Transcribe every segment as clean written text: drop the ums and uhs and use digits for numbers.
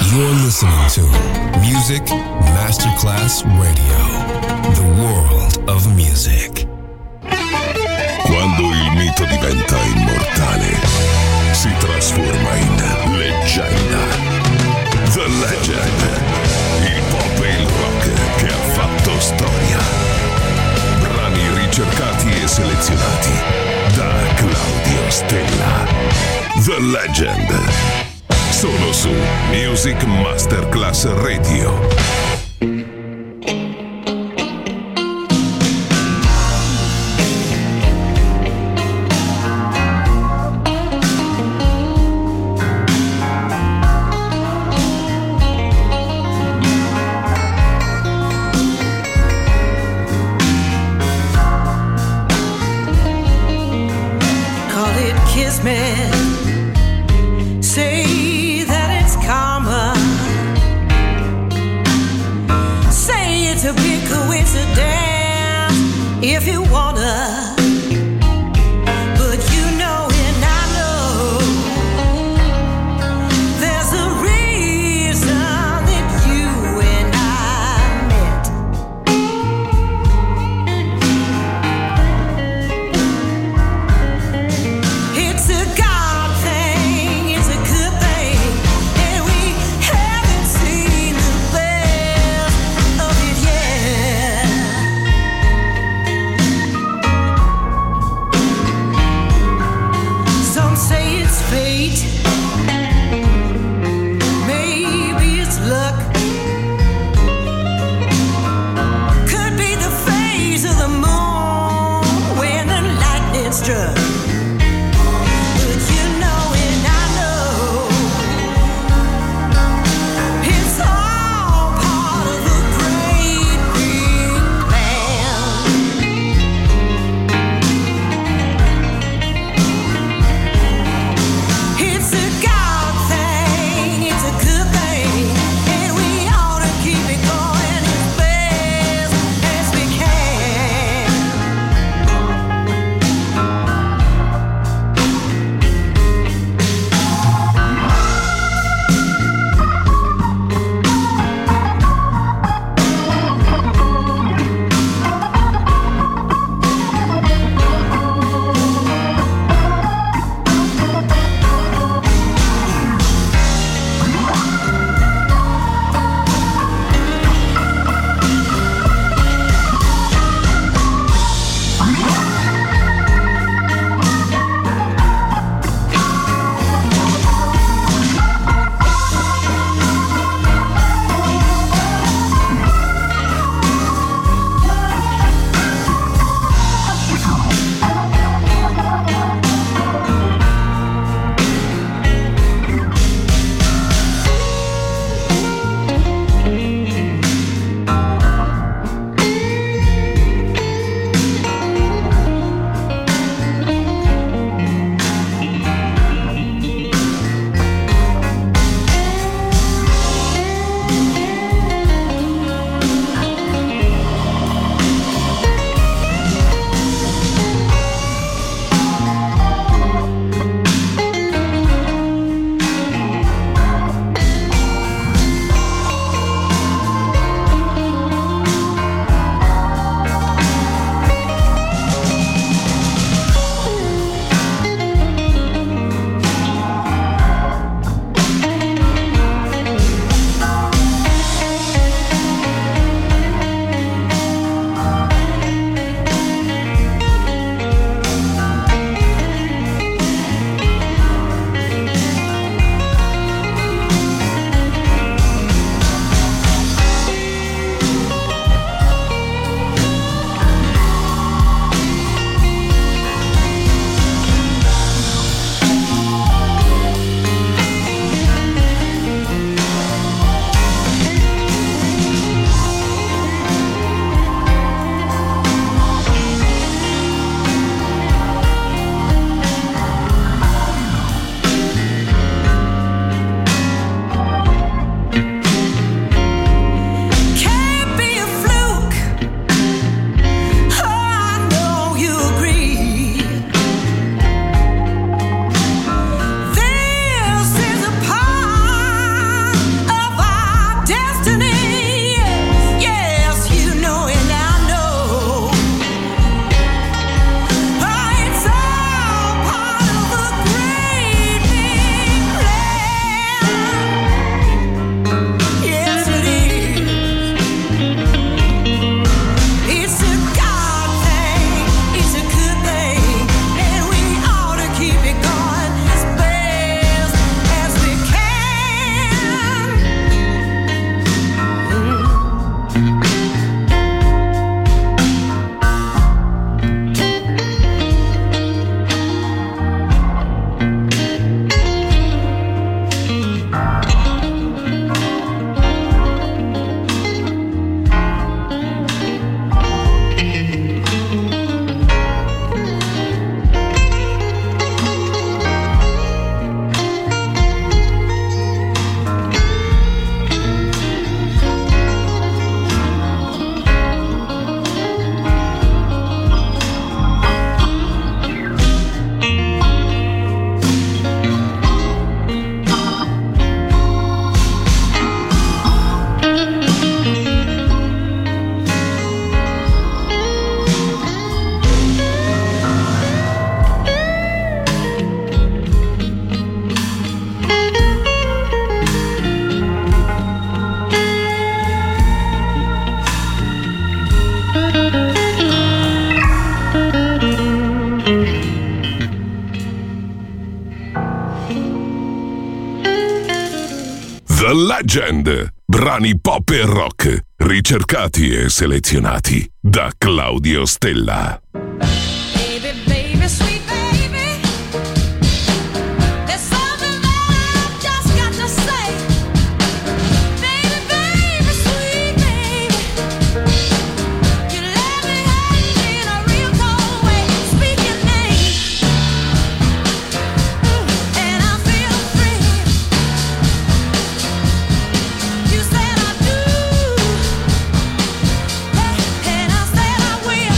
You're listening to Music Masterclass Radio, the world of music. Quando il mito diventa immortale, si trasforma in leggenda. The Legend, il pop e il rock che ha fatto storia. Brani ricercati e selezionati da Claudio Stella. The Legend, solo su Music Masterclass Radio. Say that it's karma. Say it's a big coincidence if you wanna. But you know and I know there's a reason that you and I met. It's a God thing, it's a good thing, and we haven't seen the best of it yet. The Legend. Brani pop e rock, ricercati e selezionati da Claudio Stella. Baby, baby, sweet baby, there's something that I've just got to say. Baby, baby, sweet baby, you let me hang in a real cold way. Speak your name, and I feel free. You said I do, and I said I will.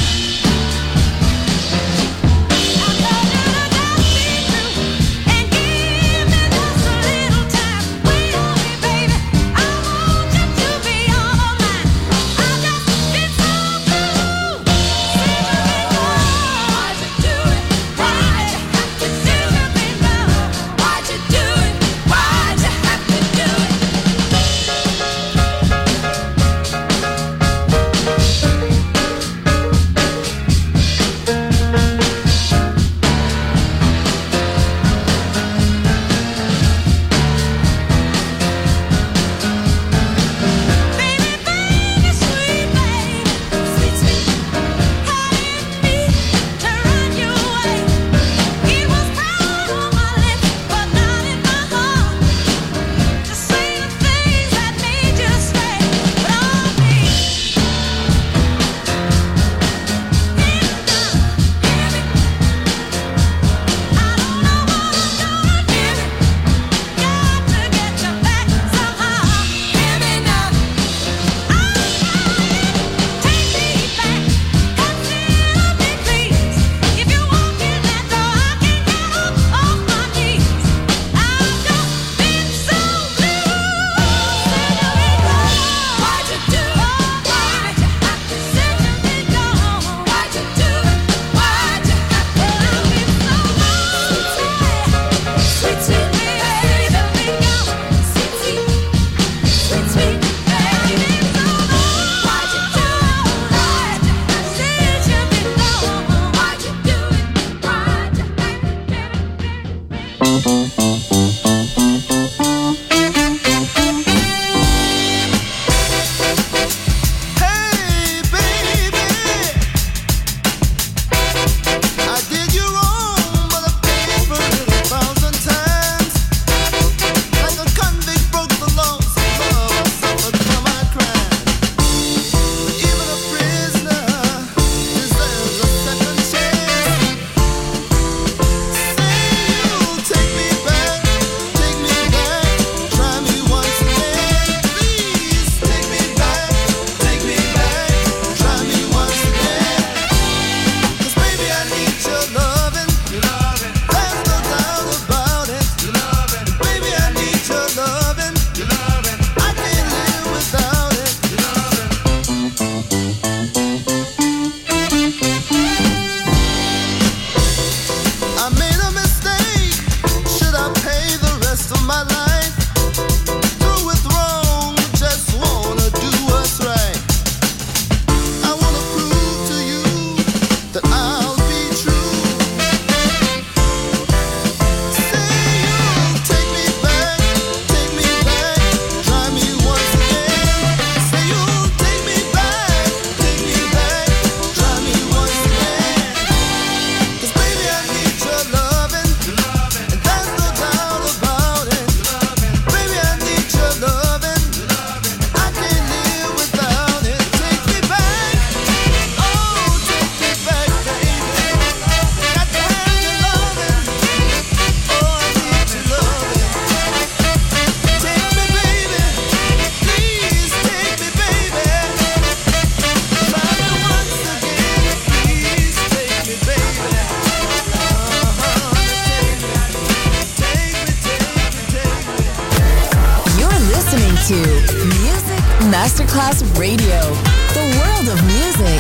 to Music Masterclass Radio, the world of music.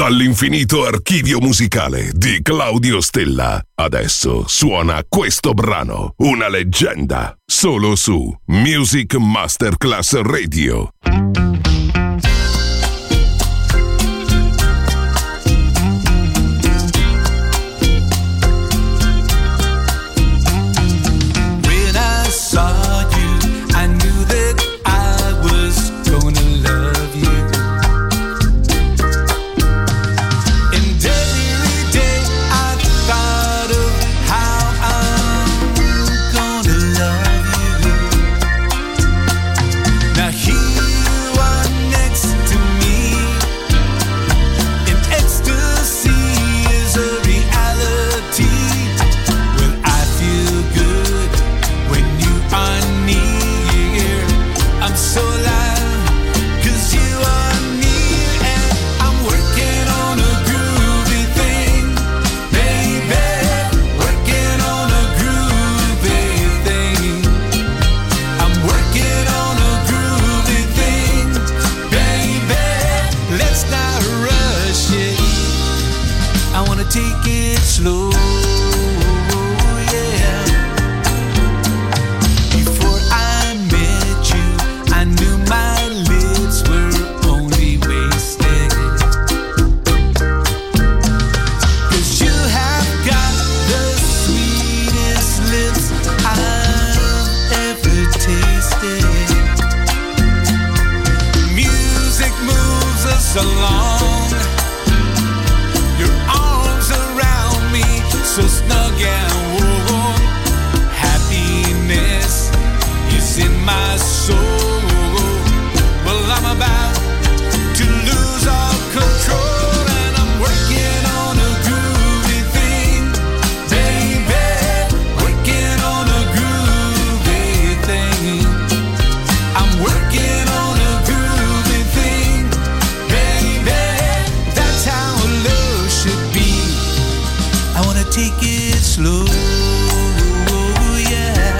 Dall'infinito archivio musicale di Claudio Stella. Adesso suona questo brano, una leggenda, solo su Music Masterclass Radio. When I saw you, I knew that I was gonna love you. And every day I thought of how I'm gonna love you. Now here you are next to me, and ecstasy is a reality. Well, I feel good when you are near. I'm so alive 'cause you are near, and I'm working on a groovy thing, baby. Working on a groovy thing. I'm working on a groovy thing, baby. Let's not rush it. I wanna take it slow, yeah. Before I met you, I knew my lips were only wasted. 'Cause you have got the sweetest lips I've ever tasted. Music moves us along, your arms around me, so snug and warm. Happiness is in my soul. Well, I'm about to lose all control, and I'm working on a groovy thing, baby. Working on a groovy thing. I'm working on a groovy thing, baby. That's how love should be. I wanna take it slow, yeah.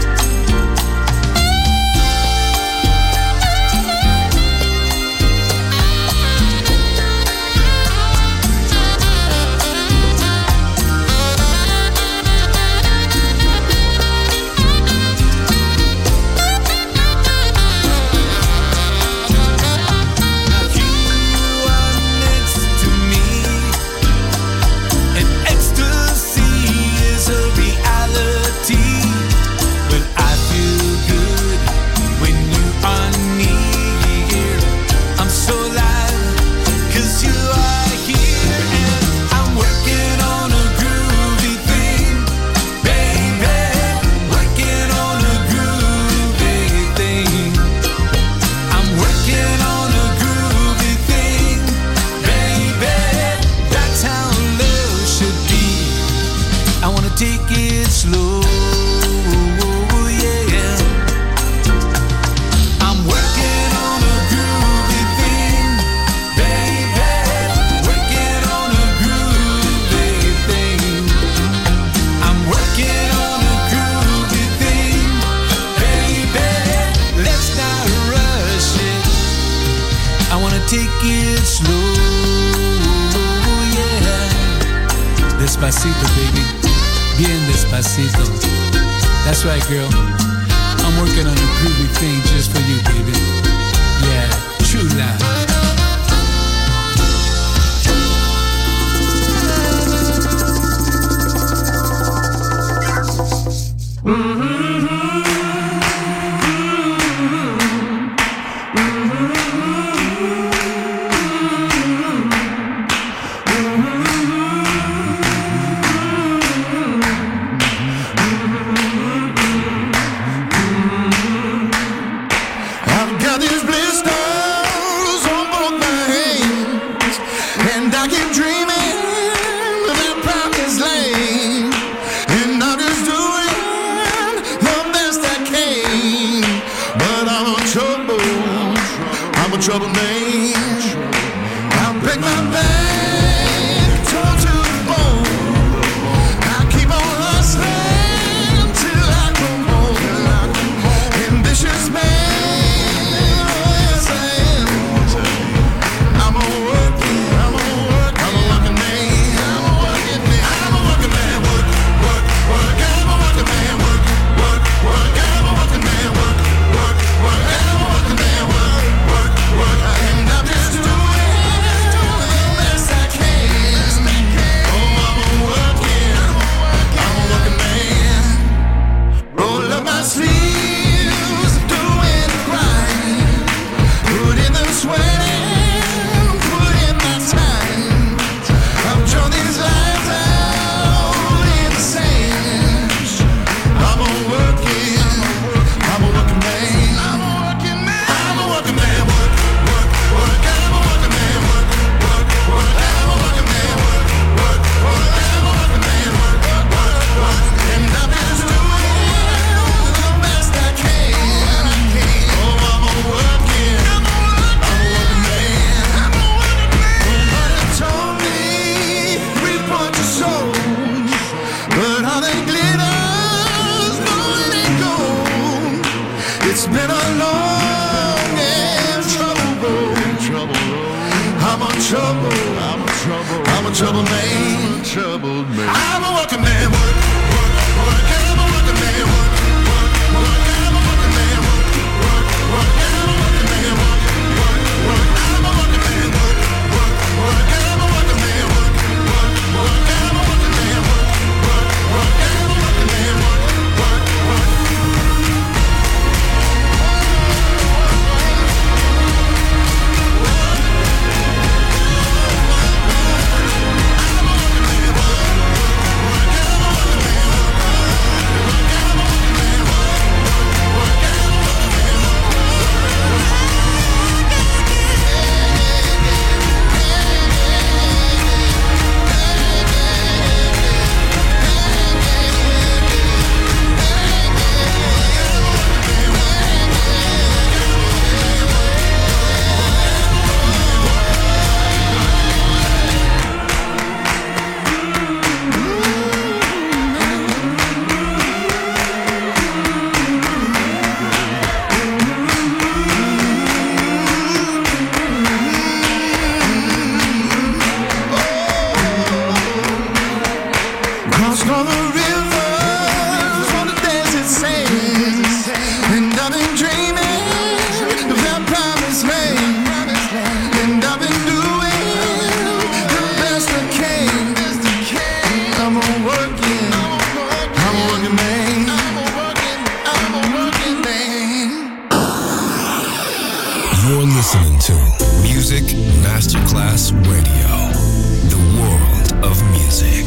Now you are next to me, and ecstasy is a reality. Well, I feel good when you are near. I'm so alive 'cause you are here, and I'm working on a groovy thing, baby. Working on a groovy thing. I'm working on a groovy thing, baby. That's how love should be. I wanna take it slow, yeah. I'm working on a groovy thing, baby. Working on a groovy thing. I'm working on a groovy thing, baby. Let's not rush it. I wanna take it slow, yeah. Despacito, baby. Bien despacito. That's right, girl. I'm working on a groovy thing just for you, baby. Yeah, true love. I've got these blisters on both my hands, and I keep dreaming of that promised land, and I'm just doing the best I can. But I'm a troubled man. I'll break my back, torn to the bone. I keep on hustling till I come home. Ambitious man. I'm a working It's been a long and troubled road. I'm a trouble man. I'm a working man. Work. I'm a working man. Work. I'm a working man. Work. I'm a working man. Work. I'm a working man. Work. I'm a working man. Work. I'm a working man. Work. I'm a working man. Work. You're listening to Music Masterclass Radio, the world of music.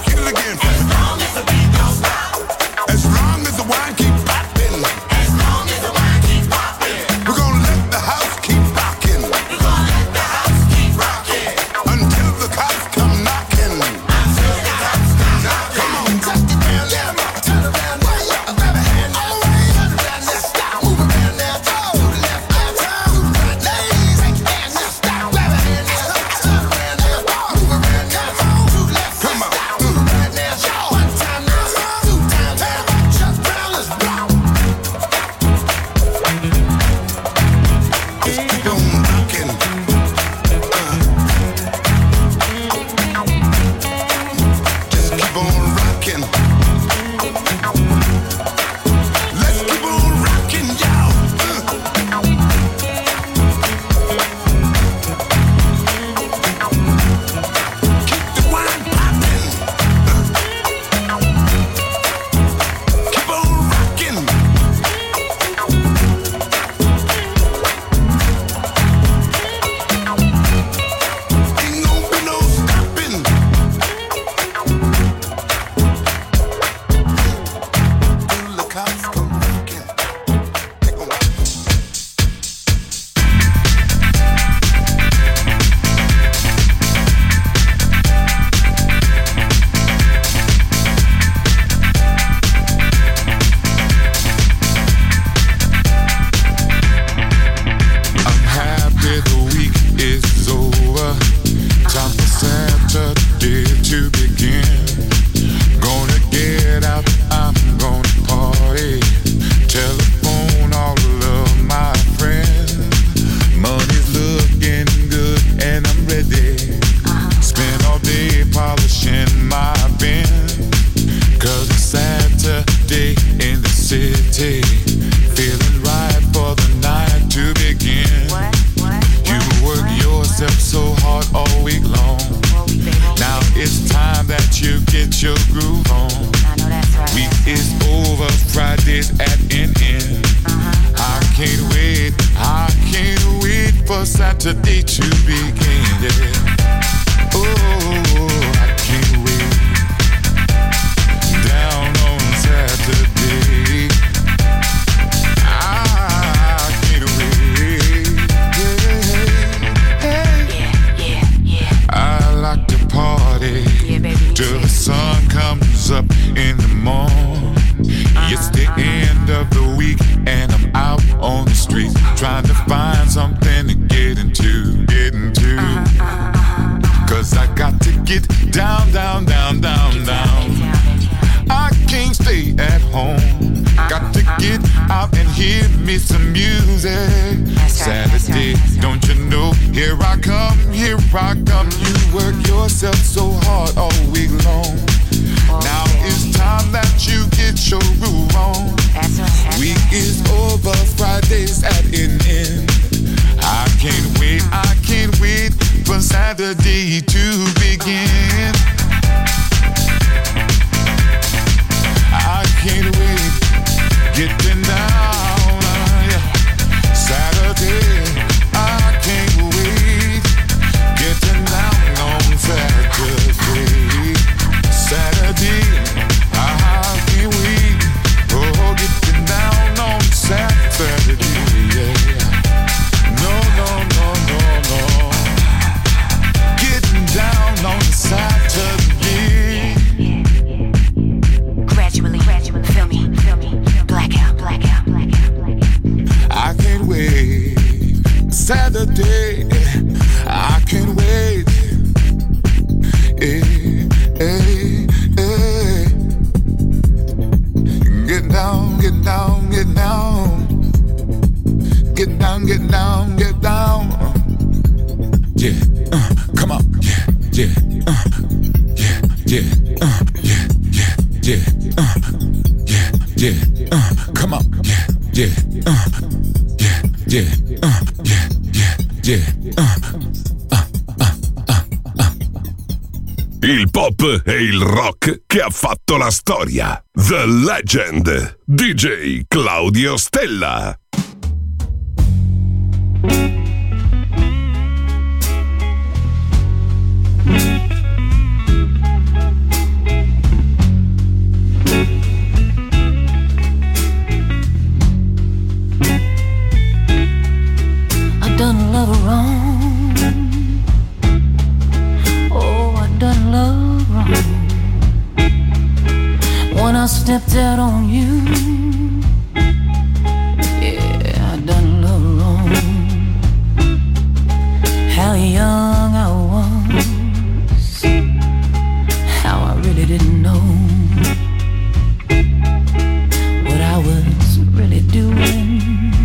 As long as the wine keep popping. As long as Saturday to begin, yeah. Oh, I can't wait. Down on Saturday, I can't wait. Yeah. I like to party till the sun comes up in the morning. It's the end of the week and I'm out on the street trying to find something to get into. Cause I got to get down. I can't stay at home. Got to get out and hear me some music. Saturday, don't you know? Here I come. You work yourself so hard all week long. Now it's time that you get your groove on. Week is over, Friday's at an end. I can't wait for Saturday to begin. I can't wait, getting down, Saturday, I can't wait, getting down on Saturday. I can't wait, oh, getting down on Saturday, yeah. No, getting down on Saturday. Gradually, feel me, blackout. I can't wait, Saturday, I can't wait, Get down. Yeah, come on. Yeah. Come on. Il pop e il rock che ha fatto la storia. The Legend, DJ Claudio Stella. I've done a lot of wrong. Oh, I've done love wrong. When I stepped out on you, yeah, I done love wrong. How young I was, how I really didn't know what I was really doing.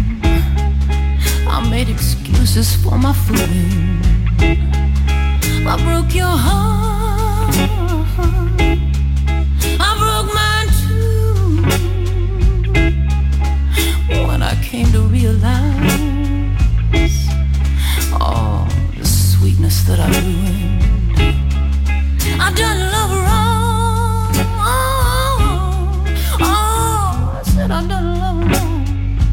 I made excuses for my fooling. I broke your heart, I broke mine too. When I came to realize all the sweetness that I ruined, I done love wrong. Oh, I said I done love wrong.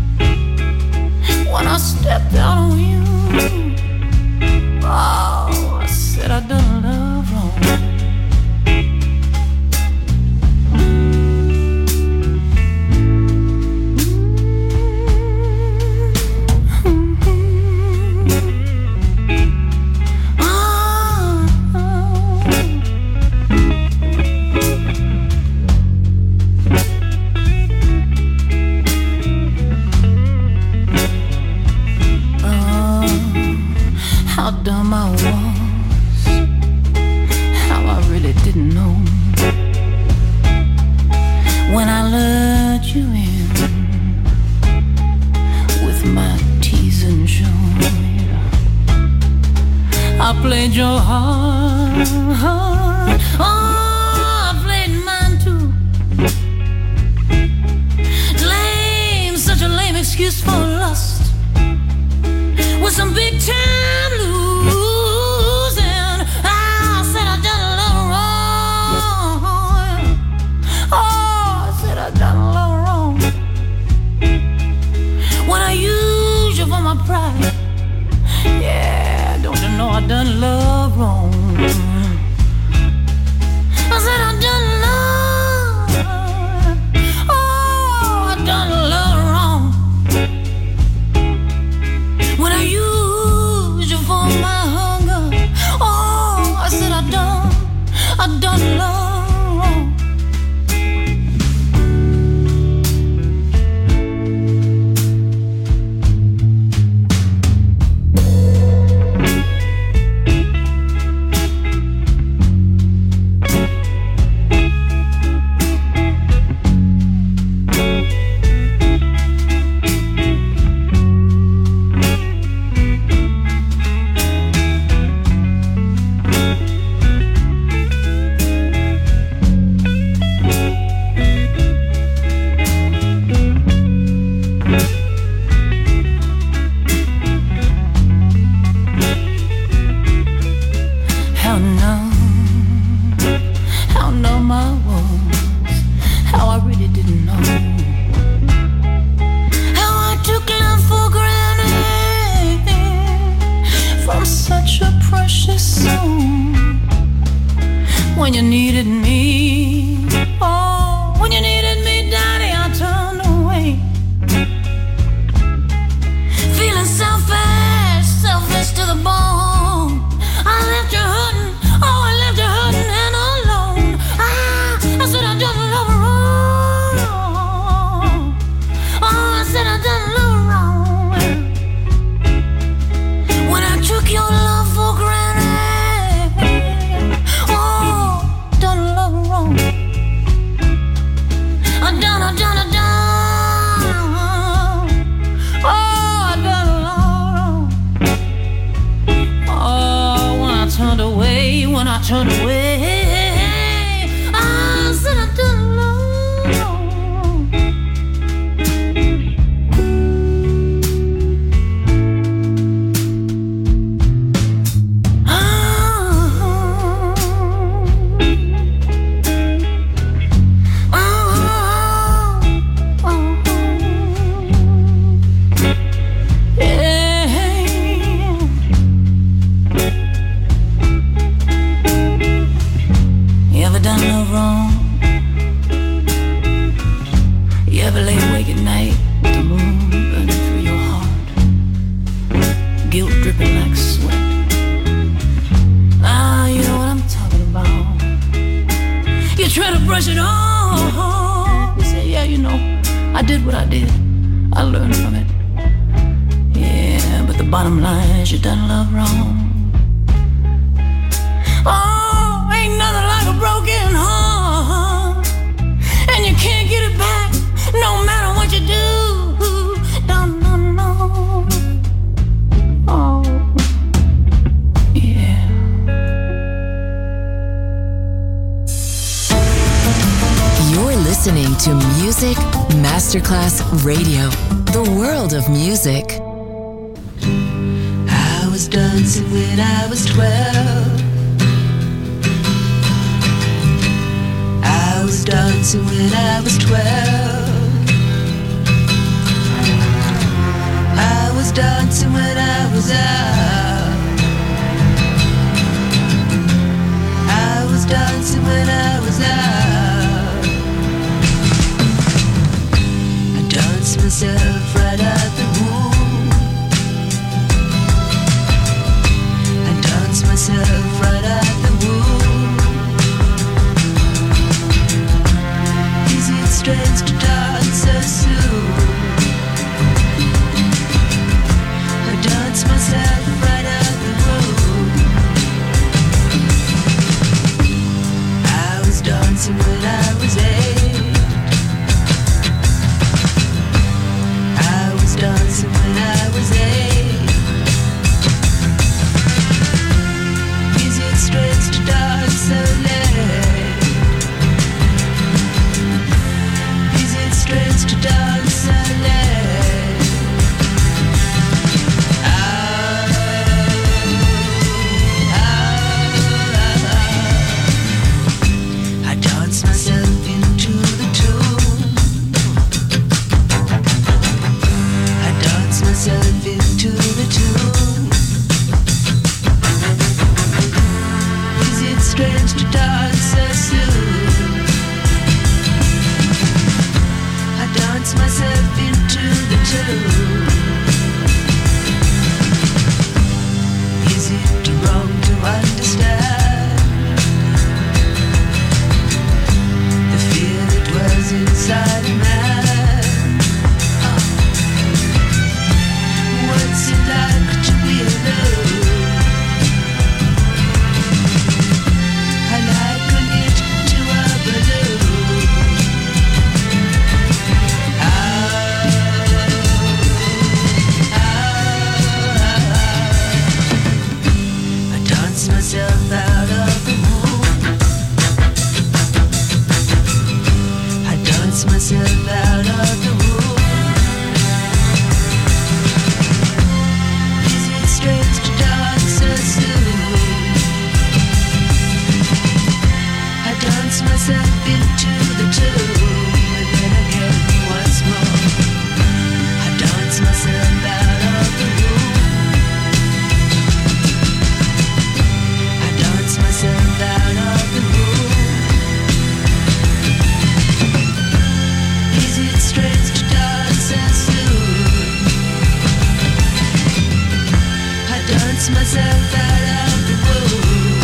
When I stepped out on you, oh, I said I done love wrong. How dumb I was, how I really didn't know. When I let you in with my teasing show, I played your heart, oh, I played mine too. Lame, such a lame excuse for lust, with some big time losing. I said I done a little wrong. Oh, I said I done a little wrong. When I used you for my pride, yeah. know I done love wrong. I said I done love. Oh, I done love wrong. When I used you for my hunger. Oh, I said I done love wrong. When you needed me, oh, when you needed me, Daddy, I turned away. Feeling selfish to the bone. I left you hurting, oh, I left you hurting and alone. I said I done love wrong. Oh, I said I done love wrong. When I took your love for granted. When I turned away, I said I done love. Try to brush it off. You say, yeah, you know, I did what I did. I learned from it. Yeah, but the bottom line is you done love wrong. Oh, ain't nothing like a broken heart. And you can't get it back no matter what you do. No, no, no. Oh, yeah. You're listening to Music Masterclass Radio, the world of music. I was dancing when I was 12. I was dancing when I was 12. I was dancing when I was out. I was dancing when I was out. I danced myself right out the womb. I danced myself right out the womb. Is it strange to dance so soon? I danced myself right out the womb. I was dancing when I was 8. I was dancing when I was 8. Is it strange to dance so late? Is it strange to dance so late? I dance myself into the tune. I dance myself into the tune. dance myself out of the blue.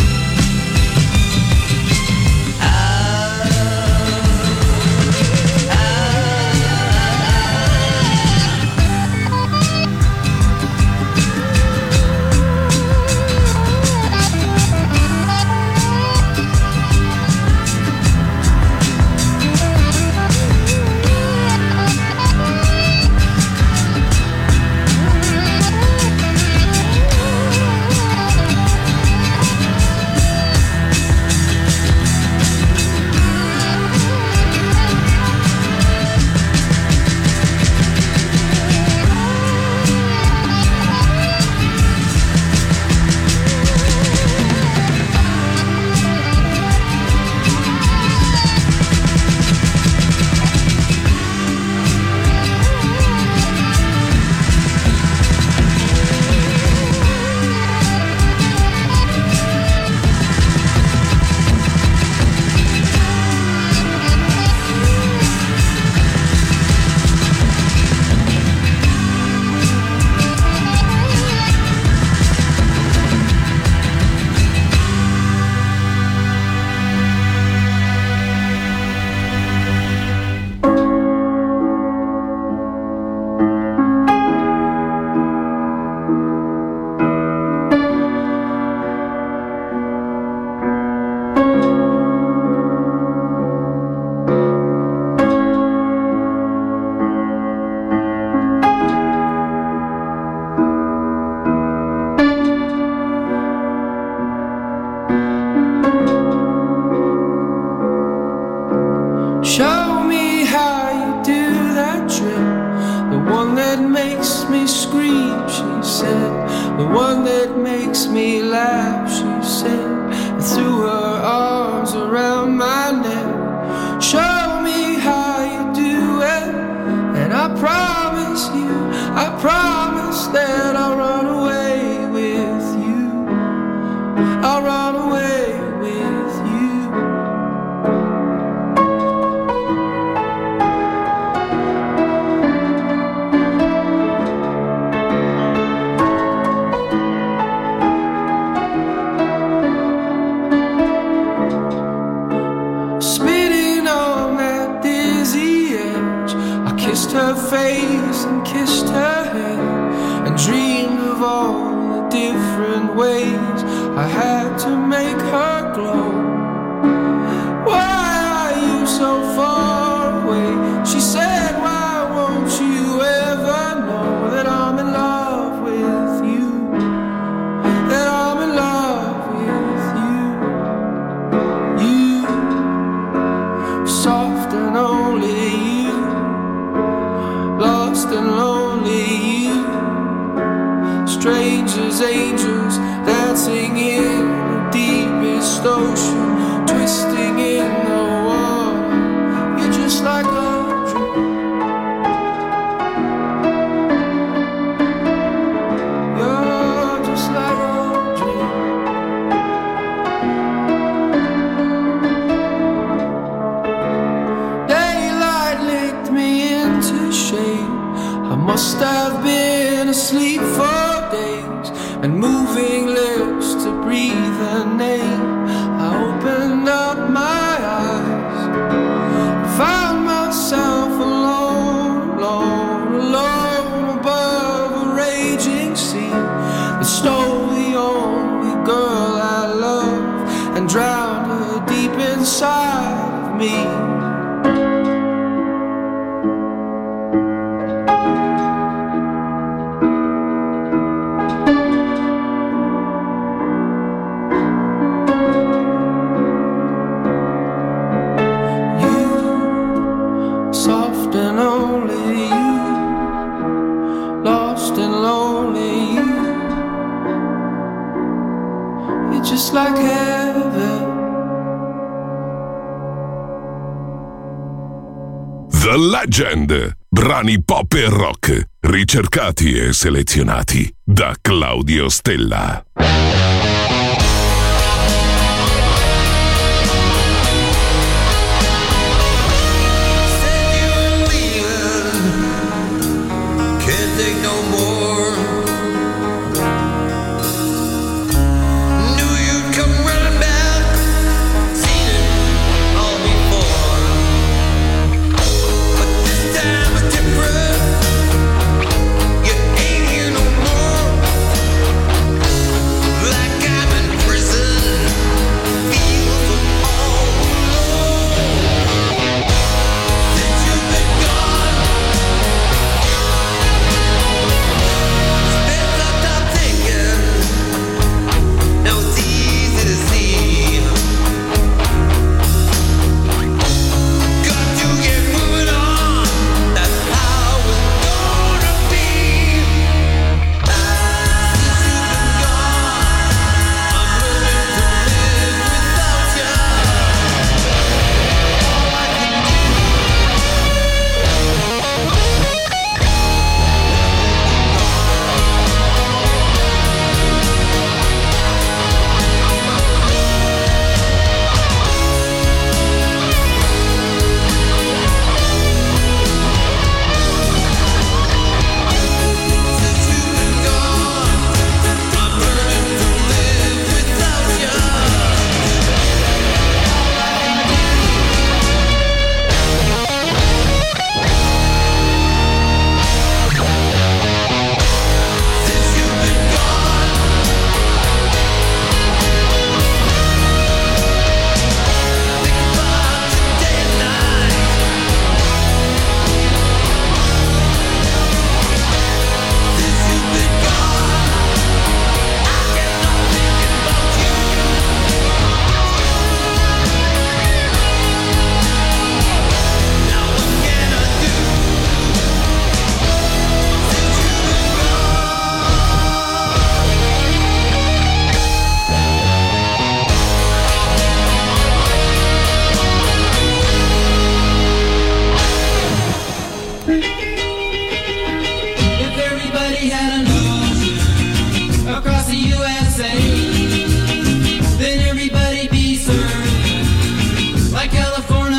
Show me how you do that trick, the one that makes me scream, she said, the one that makes me laugh, she said, and threw her arms around my neck. Show me how you do it, and I promise you, I promise that I'll run away with you, I'll run away with you. Her face and kissed her head and dreamed of all the different ways I had to make her glow. Why are you so far away? She said, why won't you ever know that I'm in love with you, that I'm in love with you, you, soft and only you, lost and lonely you, strangers, angels, dancing in the deepest ocean, twisting in the water. You're just like a dream. You're just like a dream. Daylight licked me into shade. I must have been asleep for days and moving lips to breathe her name. I opened up my eyes, found myself alone, alone, alone above a raging sea that stole the only girl I love and drowned her deep inside of me. Like heaven. The Legend, brani pop e rock, ricercati e selezionati da Claudio Stella. Can't take no more. we had an ocean across the USA, then everybody be served like California.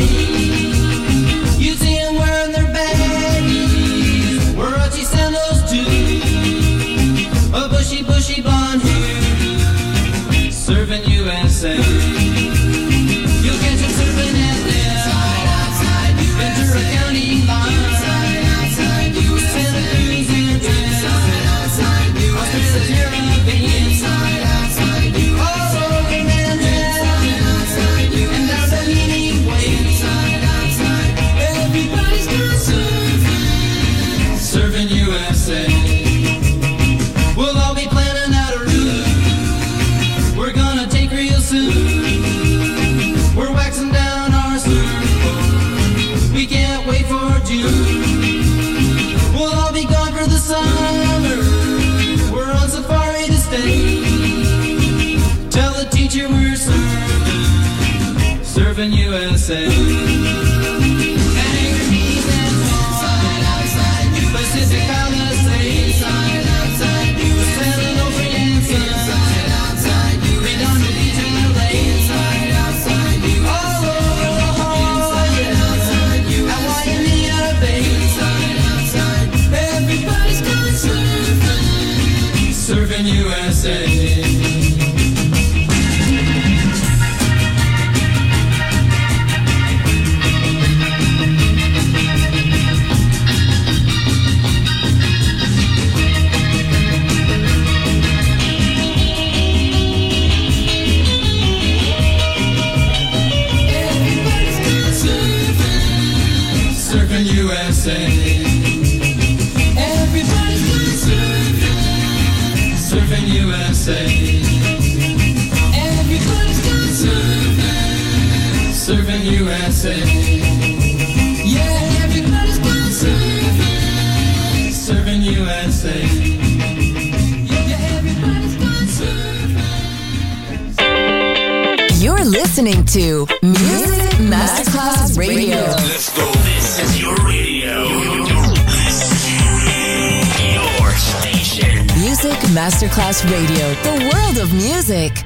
You see them wearing their baggies, Warachi sandals too, a bushy, bushy blonde hair, serving USA. You'll catch them serving at the Ventura County line, Santa Cruz and Ostrich, the Caribbean, all over Manhattan, and down the Meaning Way. Everybody's got serving USA. We'll all be planning out a route we're gonna take real soon. We're waxing down our surfboard, we can't wait for June. We'll all be gone for the summer, we're on safari to stay. Tell the teacher we're serving USA. Angry and Hawaii, Pacific Palisades, San Onofre and Sun, Redondo Beach and LA, all over Hawaii, at Waimea Bay. Everybody's gone serving USA. Surfing USA. Everybody's gone surfing USA. Everybody's gone surfing USA. Yeah, everybody's gone surfing USA. Yeah, everybody's gone surfing. You're listening to Music Masterclass Radio. Let's go. This is your radio. Your station. Music Masterclass Radio. The world of music.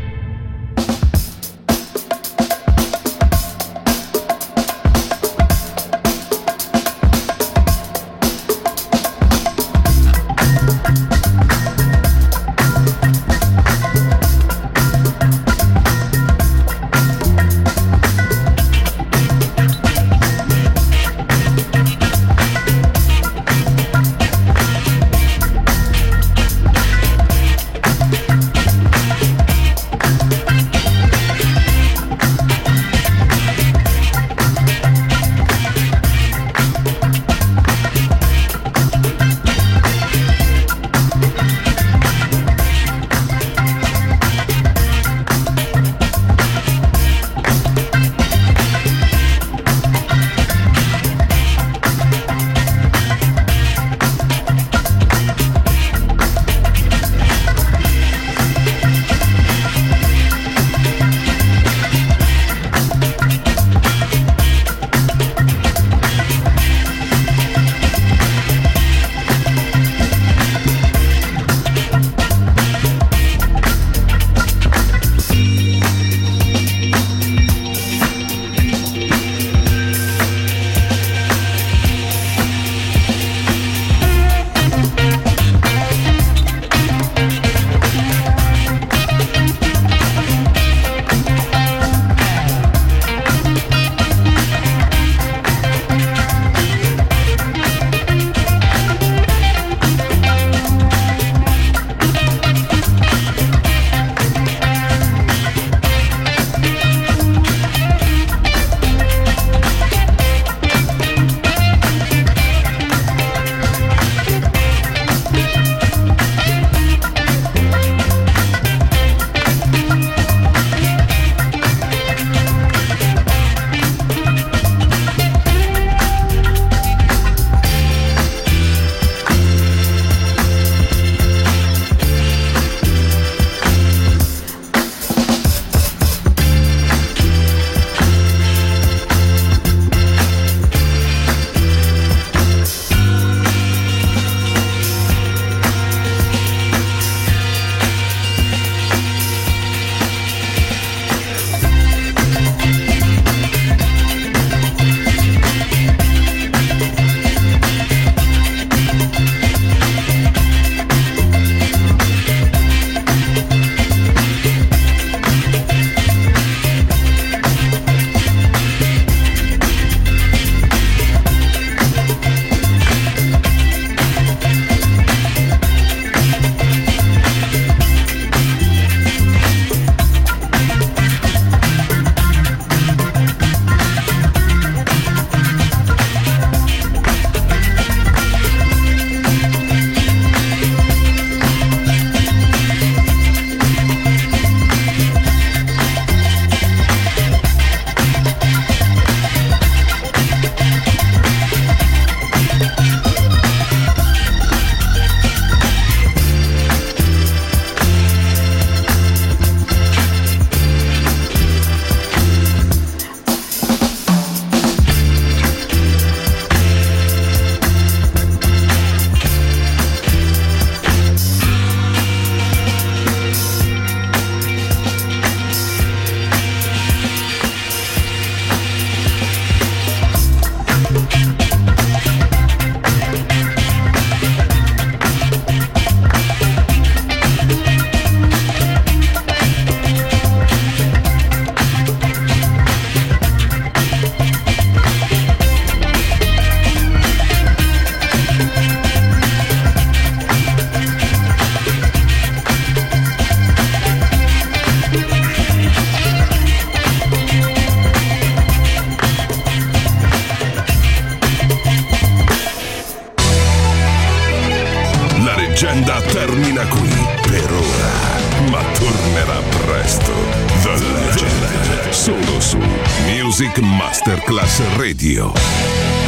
leggenda termina qui per ora, ma tornerà presto. The Legend, solo su Music Masterclass Radio.